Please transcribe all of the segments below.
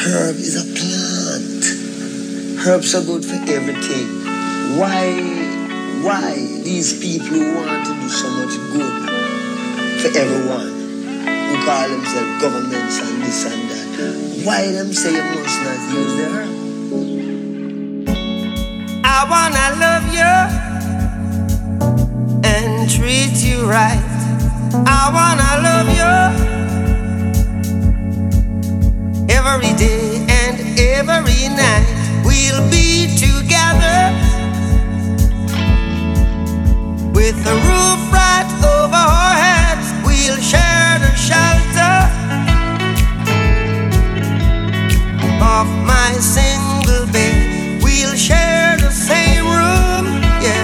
herb is a plant. Herbs are good for everything. Why these people who want to do so much good for everyone, who call themselves governments and this and that, why them say you must not use the herb? I wanna love you and treat you right. I wanna love you every day and every night. We'll be together with the roof right over our heads. We'll share the shelter of my single bed. We'll share the same room, yeah.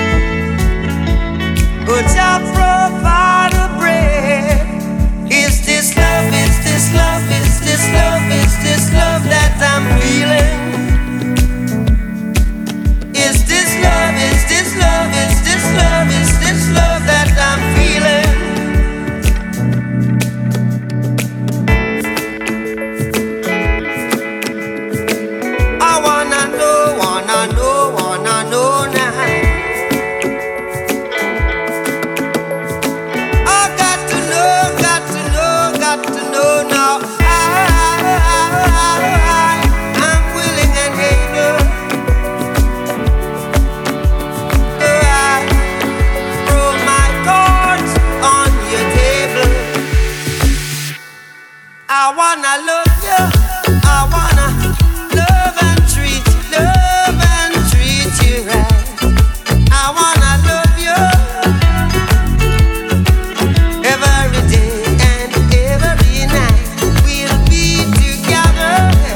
But I'll provide a bread. Is this love, is this love, is this love, is this love that I'm feeling? Is this love, is this love, is this love, is this love that I'm feeling? I wanna know now. I got to know now. I'm willing and able. I throw my cards on your table. I wanna love you. I wanna love and treat you right. I wanna love you every day and every night. We'll be together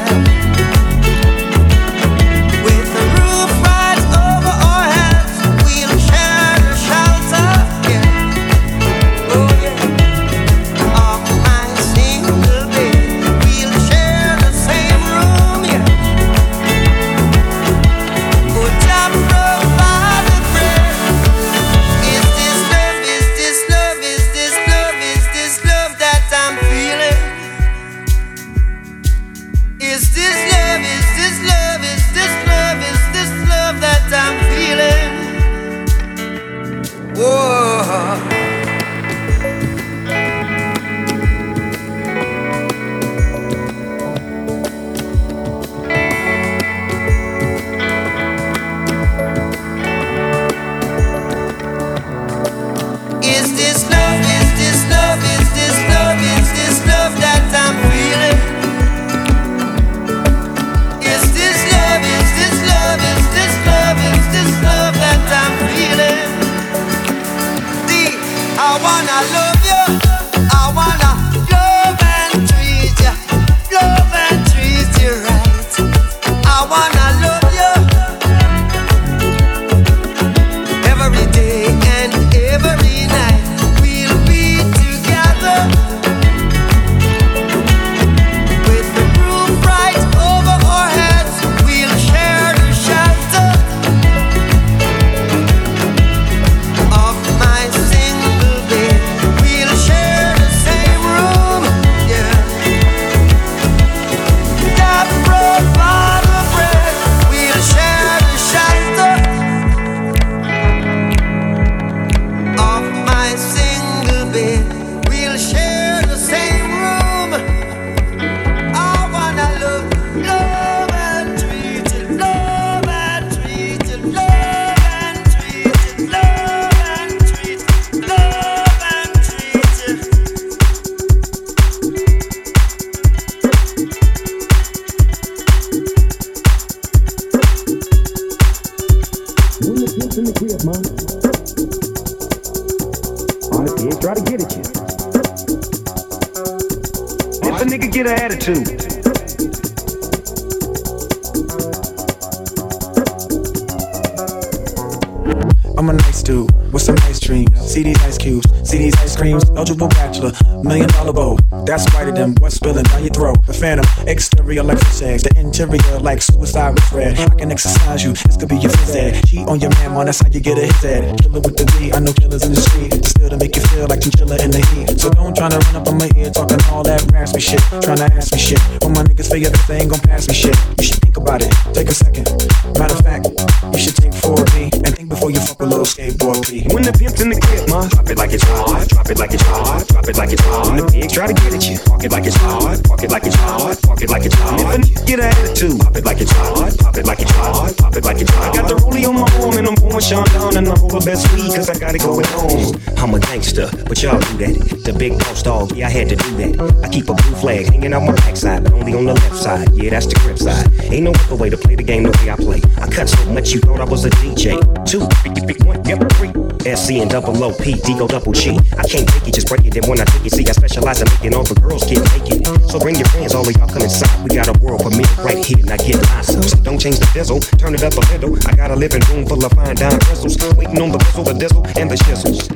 with the roof right over our heads. We'll share the shelter, yeah. Oh yeah, of my single bed. We'll share the same room, yeah. Put up provide the bread. Is this love, is this love, is this love, is this love that I'm feeling? Is this love, is this love, is this love, is this love that I'm feeling? Whoa. Is this love, is this love, is this love, is this love that I'm feeling? Is this love, is this love, is this love, is this love that I'm feeling? See, I wanna love you, I wanna love and treat you right. I wanna love you every day and every night. We'll be together with the roof right over our heads. We'll share the shelter of my single bed. We'll share the same room, yeah. That provide the bread. We'll share the shelter of my single bed. We'll share the same room. I wanna love and treat you, love and treat you, love and treat you, love and treat you, love and treat you. In the crib, man. Honestly, try to get at you. If a nigga get an attitude. I'm a nice dude with some nice dreams. See these ice cubes, See these ice creams, eligible bachelor, $1 million bowl. That's whiter than what's spilling down your throat. The phantom, exterior like fish eggs, the interior like suicide with red. I can exercise you, this could be your phys ed. Cheat on your man, that's how you get a his ed. Killer with the D, I know killers in the street. Still to make you feel like chinchilla in the heat. So don't tryna run up on my ear talking all that raspy shit. Tryna ask me shit. When my niggas figure this ain't gon' pass me shit. You should think about it, take a second. Matter of fact, you should take 4B and think before you fuck a little skateboard P. When the pimp's in the clip, man, drop it like it's hot, drop it like it's hot, drop it like it's hot. When the pigs try to get at you, walk it like it's hot, walk it like it's hot, walk it like it's hot. If a nigga get an attitude, pop it like it's hot, pop it like it's hot, pop it like it's hot. I got the rollie on my arm and I'm pouring Sean down and I'm over best weed cause I gotta go at home. I'm a gangster, but y'all do that. The big boss dog, yeah, I had to do that. I keep a blue flag hanging out my backside, but only on the left side. Yeah, that's the grip side. Ain't no other way to play the game the way I play. I cut so much you thought I was a DJ. 2, 1, yep, 3. SC and double OP, D-O double G. I can't take it, just break it. Then when I take it, see, I specialize in making all the girls get naked. So bring your friends, all of y'all come inside. We got a world premiere right here, and I get myself. So don't change the diesel, turn it up a little. I got a living room full of fine dime crystals, waiting on the whistle, the diesel, and the shizzles.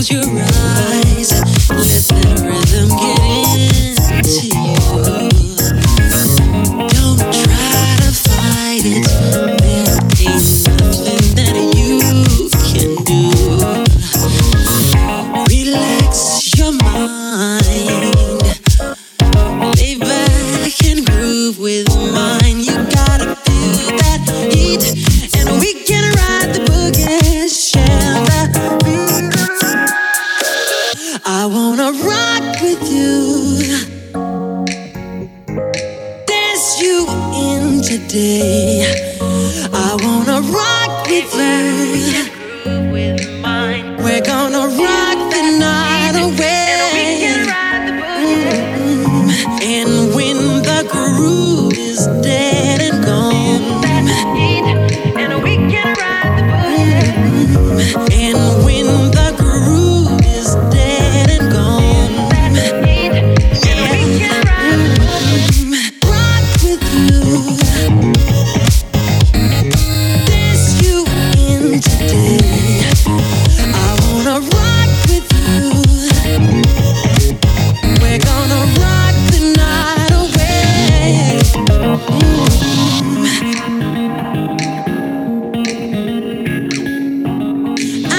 your eyes. Let that rhythm get into you. Don't try to fight it. There ain't nothing that you can do. Relax your mind. Lay back and groove with mine. You gotta feel that heat, and we can ride the boogie, share the beat. I wanna rock with you, dance you in today. I wanna rock with you. We're gonna rock the night away. And when the groove is dead and gone, and we can ride the boogie. And when the groove is dead and gone, and we can ride the boogie. Rock with you, dance you in today. I wanna rock with you. We're gonna rock the night away. I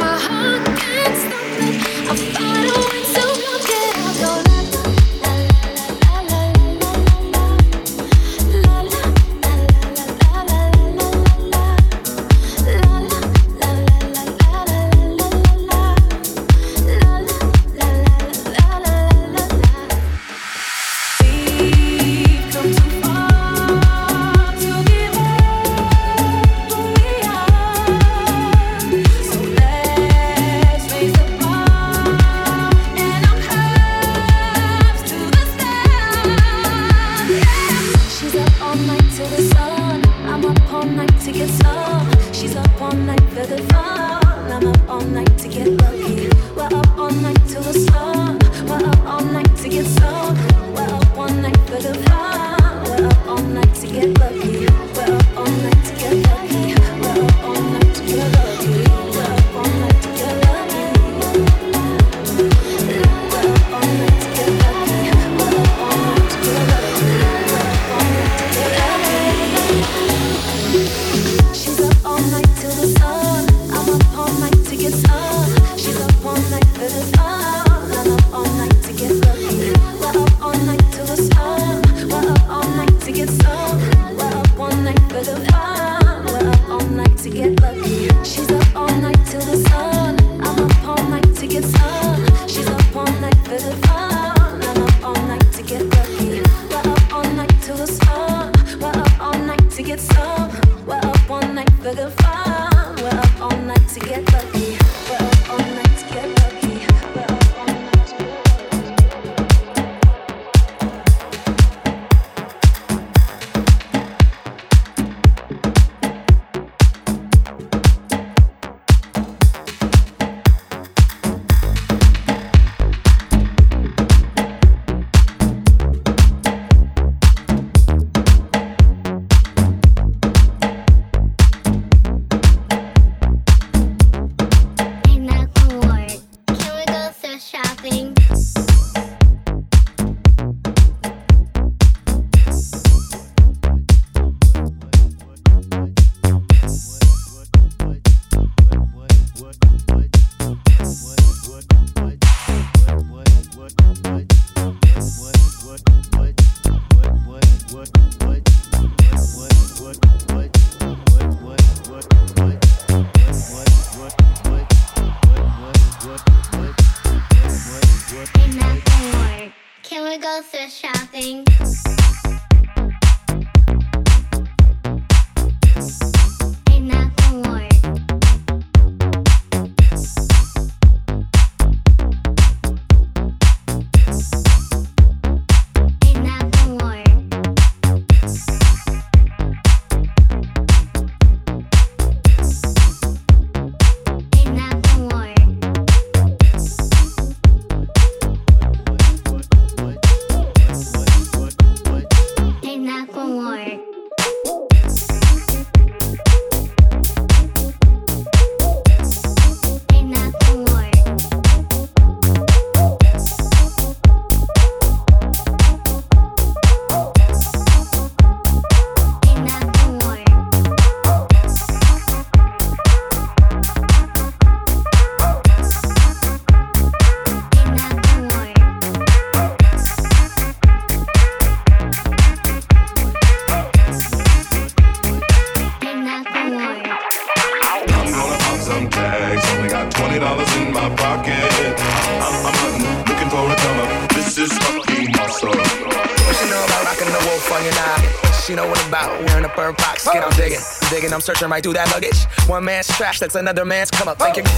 I'm searching right through that luggage. One man's trash, that's another man's come up. Thinking,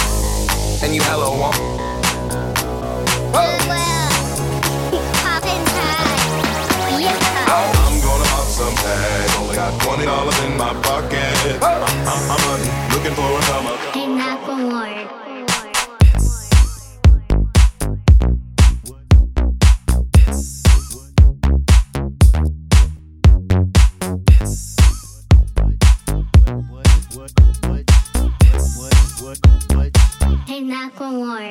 and you hello one. I'm gonna pop some tags. Only got $20 in my pocket. I'm hunting, looking for a come up. Ain't that for more? Ain't that for more?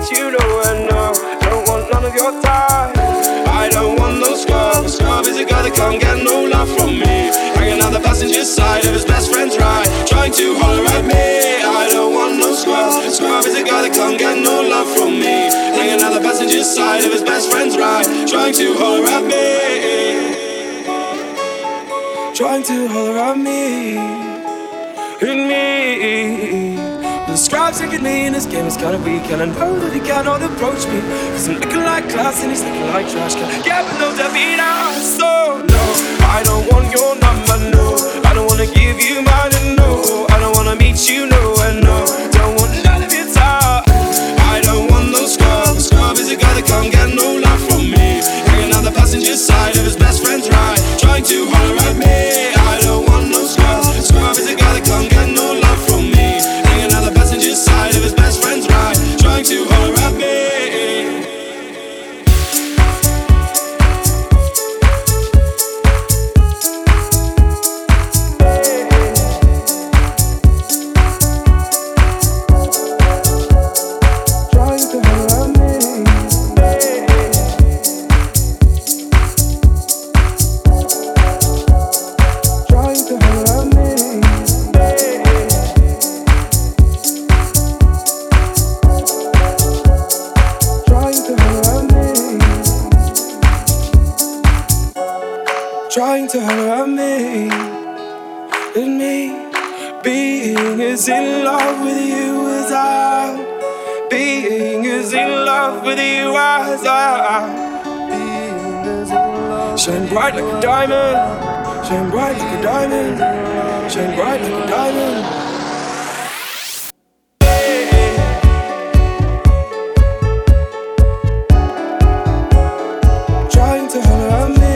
meet you nowhere, no. Don't want none of your time. I don't want no scrub. A scrub is a guy that can't get no love from me. Hanging on the passenger side of his best friend's ride, trying to holler at me. I don't want no scrub. A scrub is a guy that can't get no love from me. Hanging on the passenger side of his best friend's ride, trying to holler at me. Trying to holler at me. In me. The scribe's looking at me in this game is kinda weak, and I know that he cannot approach me, cause I'm looking like class and he's looking like trash. Can't get with no Davina. So no, I don't want your number, no. I don't wanna give you mine, no. I don't wanna meet you nowhere, no. Don't want none of your time. I don't want no scrub. Scrub is a guy that can't get no love from me. Hanging on the passenger side of his best friend's ride, trying to holler at me. I don't want no scrub. Scrub is a guy that can't get no love from me. Hanging on the passenger side of his best friend's ride, trying to holler at me. Trying to holler at me, and me being as in love with you as I, being as in love with you as I, being as in love. Shine bright like a diamond, shine bright like a diamond, shine bright like a diamond. Trying to holler at me.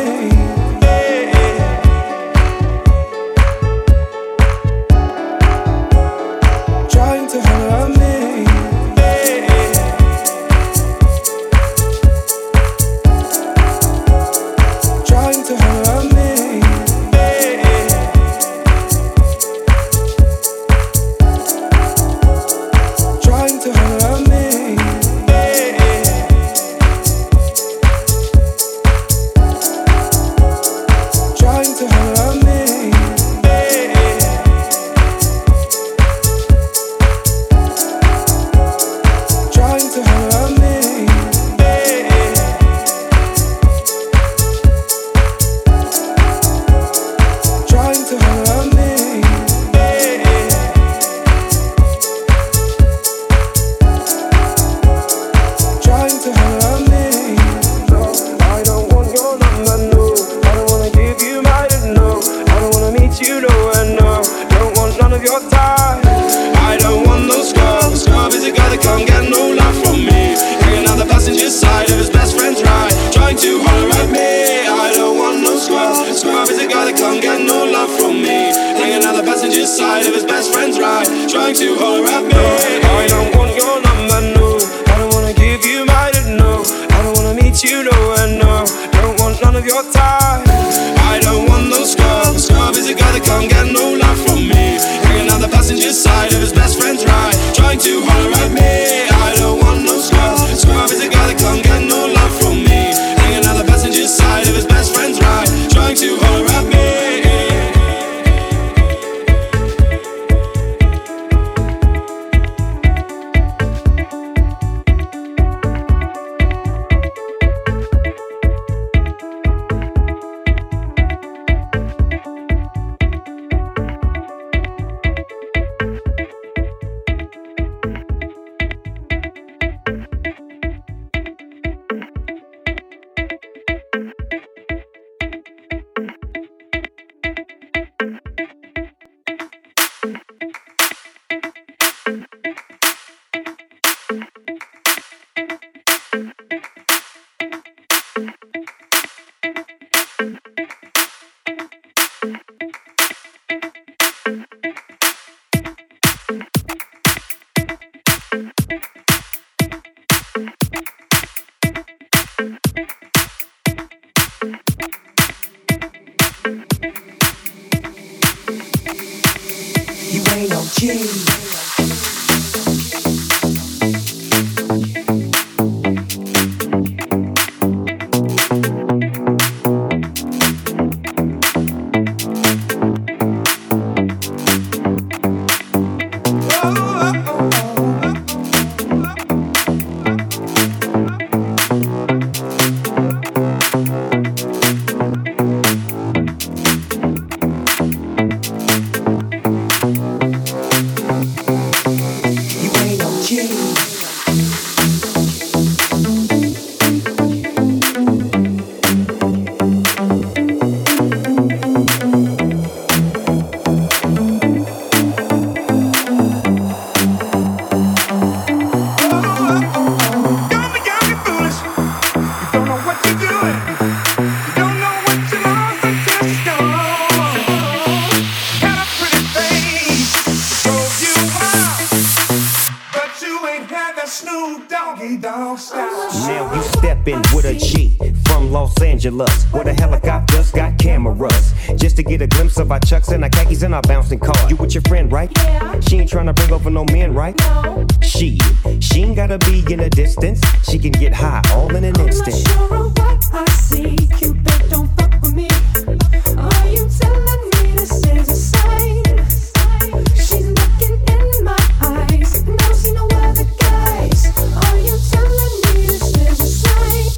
got that Snoop Doggy Dogg style. Now you steppin' with a G from Los Angeles, where the helicopters got cameras, just to get a glimpse of our chucks and our khakis and our bouncing cars. You with your friend, right? Yeah. She ain't tryna bring over no men, right? No. She ain't gotta be in a distance. She can get high all in an instant. I'm not sure of what I see. Cupid, don't fuck with me. Are you telling me this is a sign? She's looking in my eyes. Don't see no other guys. Are you telling me this is a sign?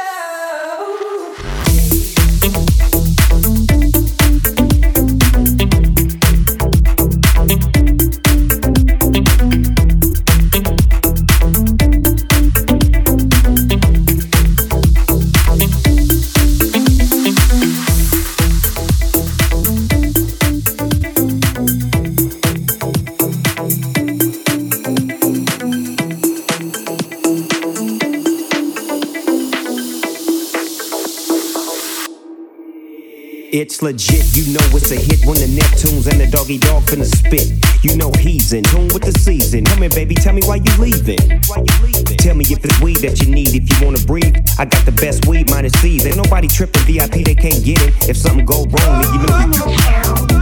It's legit, you know it's a hit when the Neptunes and the Doggy Dog finna spit. You know he's in tune with the season. Come here, baby, tell me why you leaving. Tell me if it's weed that you need, if you wanna breathe. I got the best weed, minus C's. Ain't nobody tripping, VIP, they can't get it. If something go wrong, then you know we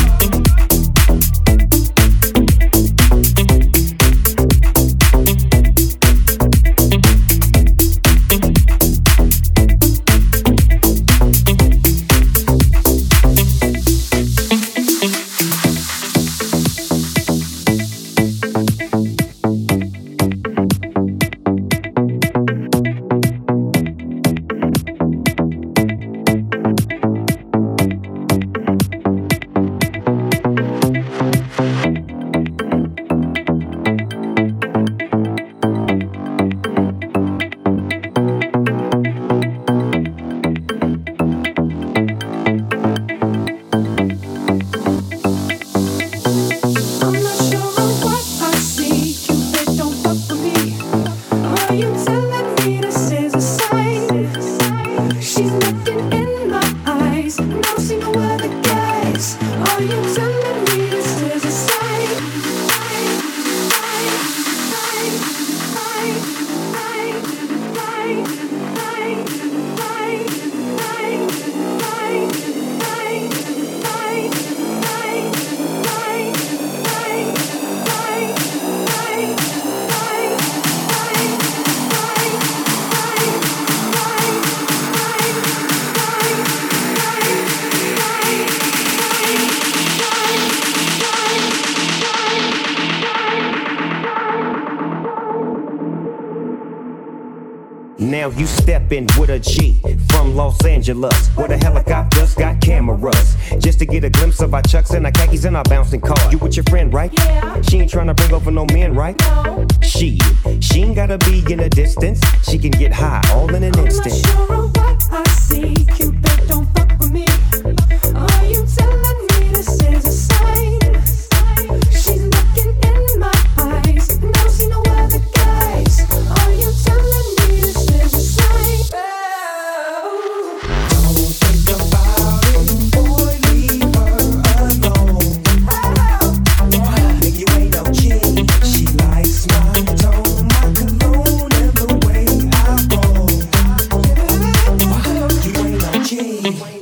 Now you steppin' with a G from Los Angeles, where the helicopters got cameras, just to get a glimpse of our chucks and our khakis and our bouncing cars. You with your friend, right? Yeah. She ain't tryna bring over no men, right? No. She ain't gotta be in a distance. She can get high all in an instant. I'm not sure of what I see. Cupid, don't fuck with me. Are you telling me this is a sign? She's looking in my eyes. Don't see no other guys. Are you telling me this is a sign? Don't think about it, boy, leave her alone. Nigga, you ain't no king. She likes my tone, my cologne, and the way I roll. You ain't no king.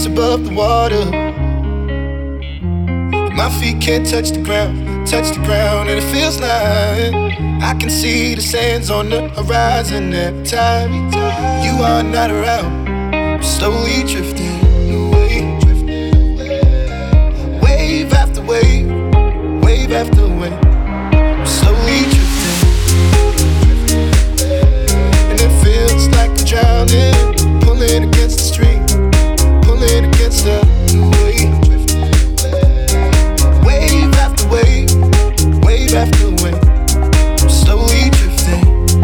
above the water. My feet can't touch the ground, and it feels like I can see the sands on the horizon every time you are not around. I'm slowly drifting away, wave after wave, wave after wave. I'm slowly drifting, and it feels like I'm drowning, pulling against the stream, pulling against the wave. Wave after wave, wave after wave. I'm slowly drifting,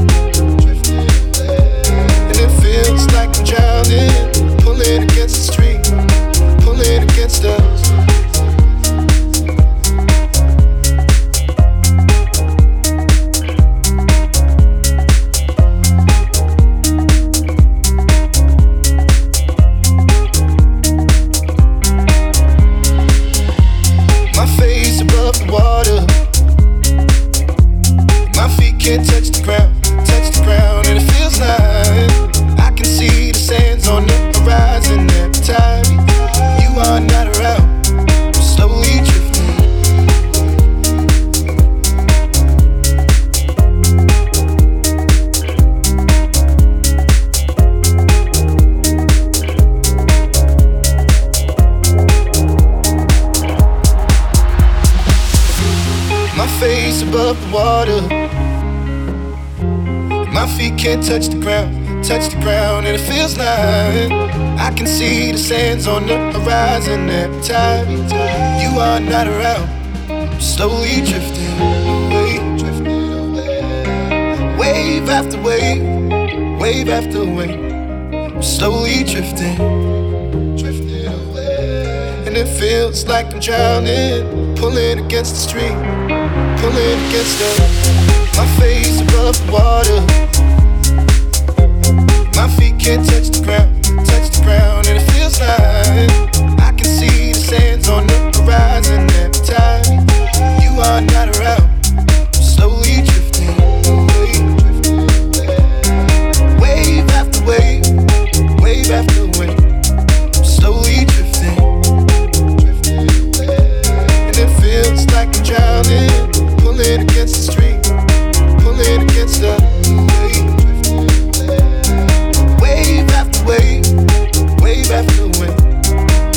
and it feels like I'm drowning, pulling against the stream, pulling against us. Can't touch the ground, and it feels like I can see the sands on the horizon every time you are not around. I'm slowly drifting, my face above the water. My feet can't touch the ground, and it feels like I can see the sands on the horizon every time you are not around. I'm slowly drifting away, wave after wave, wave after wave. I'm slowly drifting, and it feels like I'm drowning, pulling against the stream, pulling against my face above the water. My feet can't touch the ground, and it feels like I can see the sands on the horizon every time you are not around. I'm slowly drifting away, wave after wave, wave after wave. I'm slowly drifting, and it feels like I'm drowning, pulling against the stream, pulling against the wave. Wave after wave, wave after wave.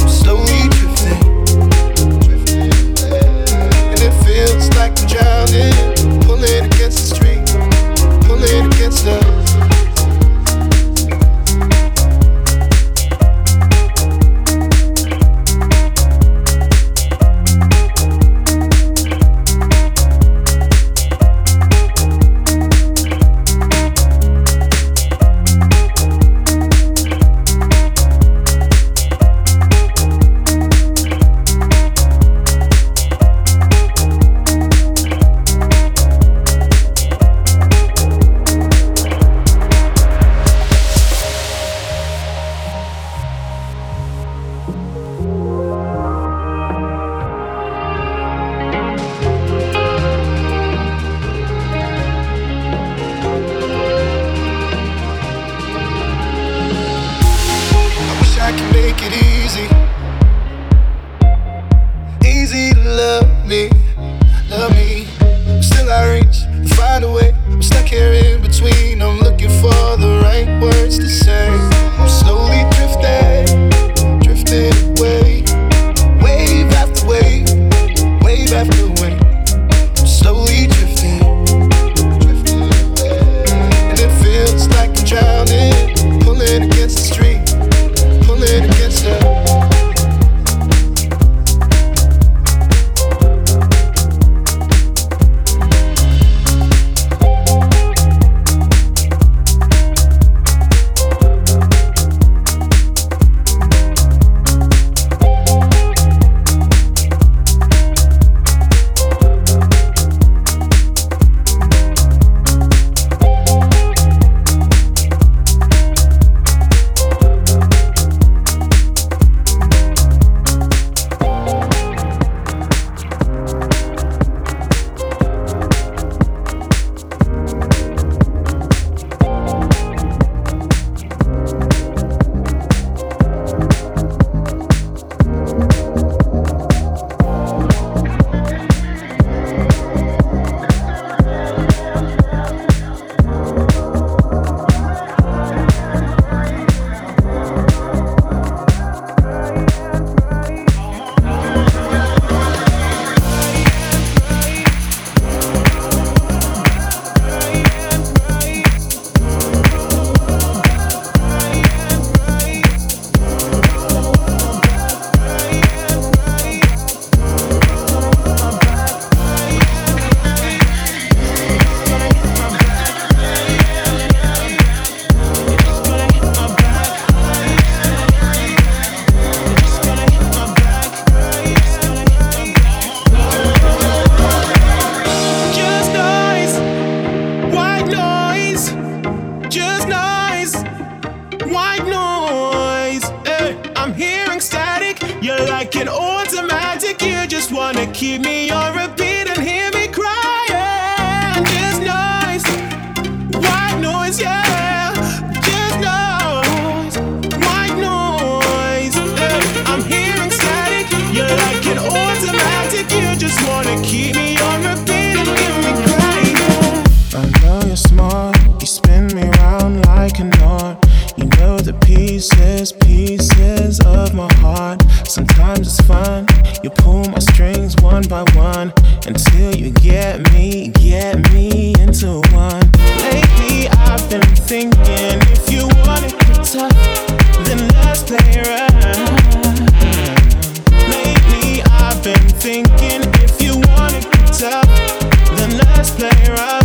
You're like an automatic, you just wanna keep me on repeat and hear me crying. Just noise, white noise, yeah. Just noise, white noise, yeah. I'm hearing static. You're like an automatic, you just wanna keep me on repeat and hear me crying. I know you're smart, you spin me round like a knot. You know the pieces of my heart. Sometimes it's fun, you pull my strings one by one until you get me into one. Lately I've been thinking, if you want it tough, then let's play around. Lately I've been thinking, if you want it tough, then let's play rough.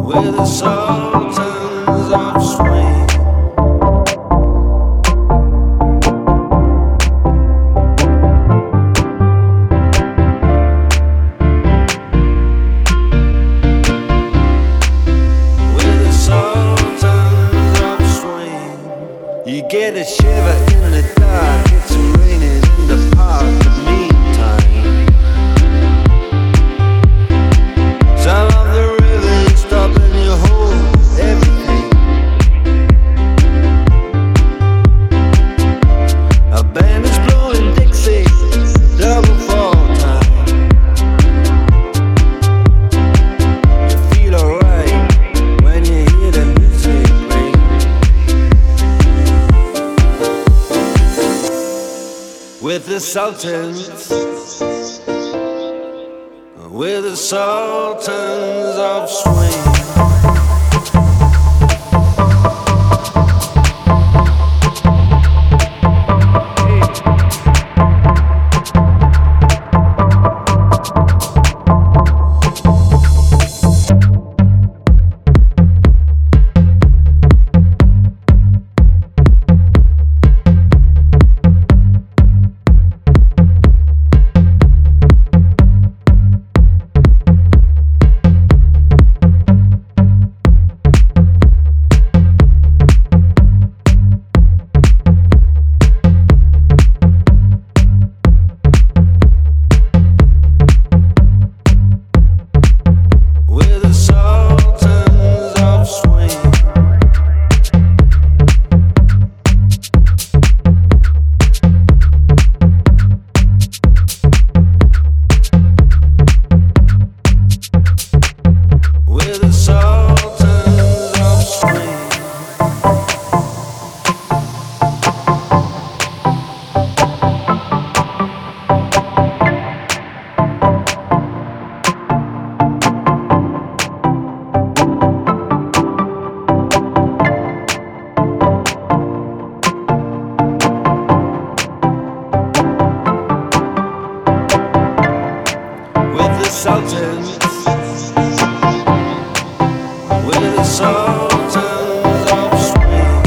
We're the sultans of swing. We're the sultans of swing. You get a shiver in the dark. It's raining in the park. But meantime, sound of the river is stopping you hold everything. A band is blowing Dixie, double fall time. You feel alright when you hear the music ring. With the Sultans, we're the sultans of swing. We're the sultans of swing. We're the sultans of swing. With the sultans, we're the sultans of swing.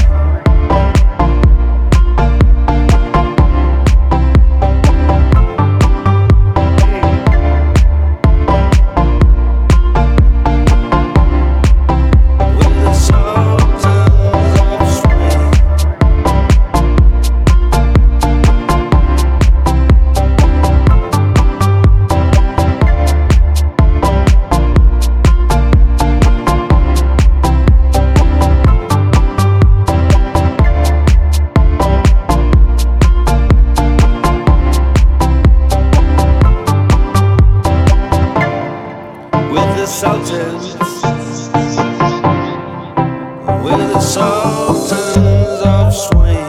We're the sultans of swing. With the sultans, we're the sultans of swing.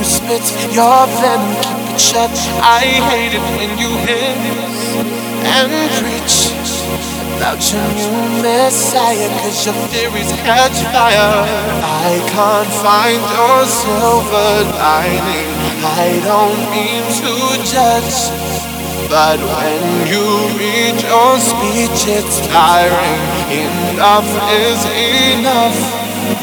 you spit your venom, keep it shut. I hate it when you hiss and preach about your new messiah, cause your theories catch fire. I can't find your silver lining. I don't mean to judge, but when you read your speech, it's tiring. Enough is enough.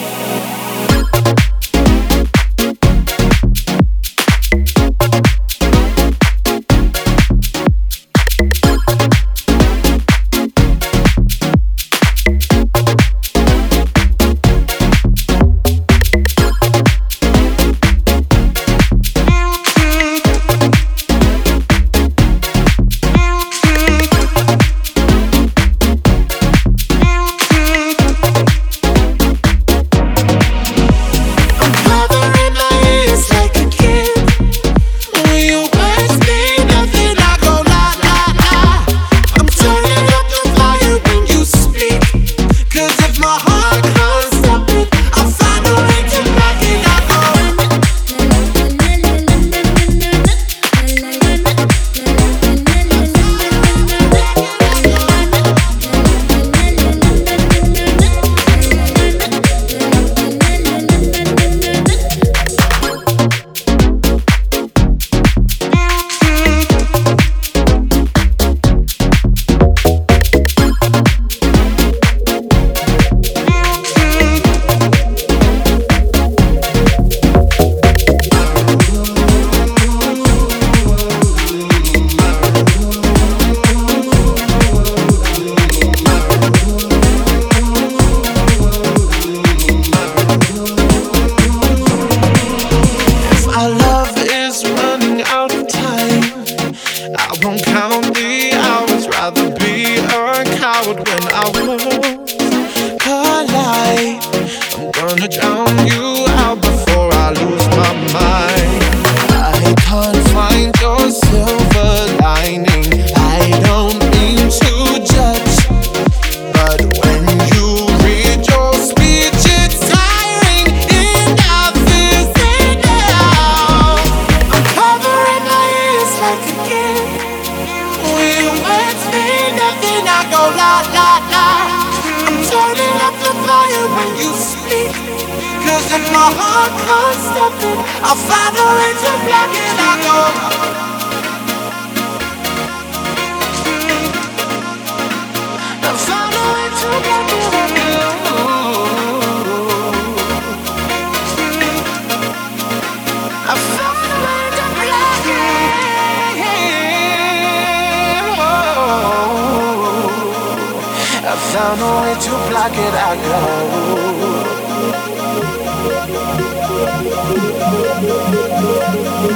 Found a way to block it, I know.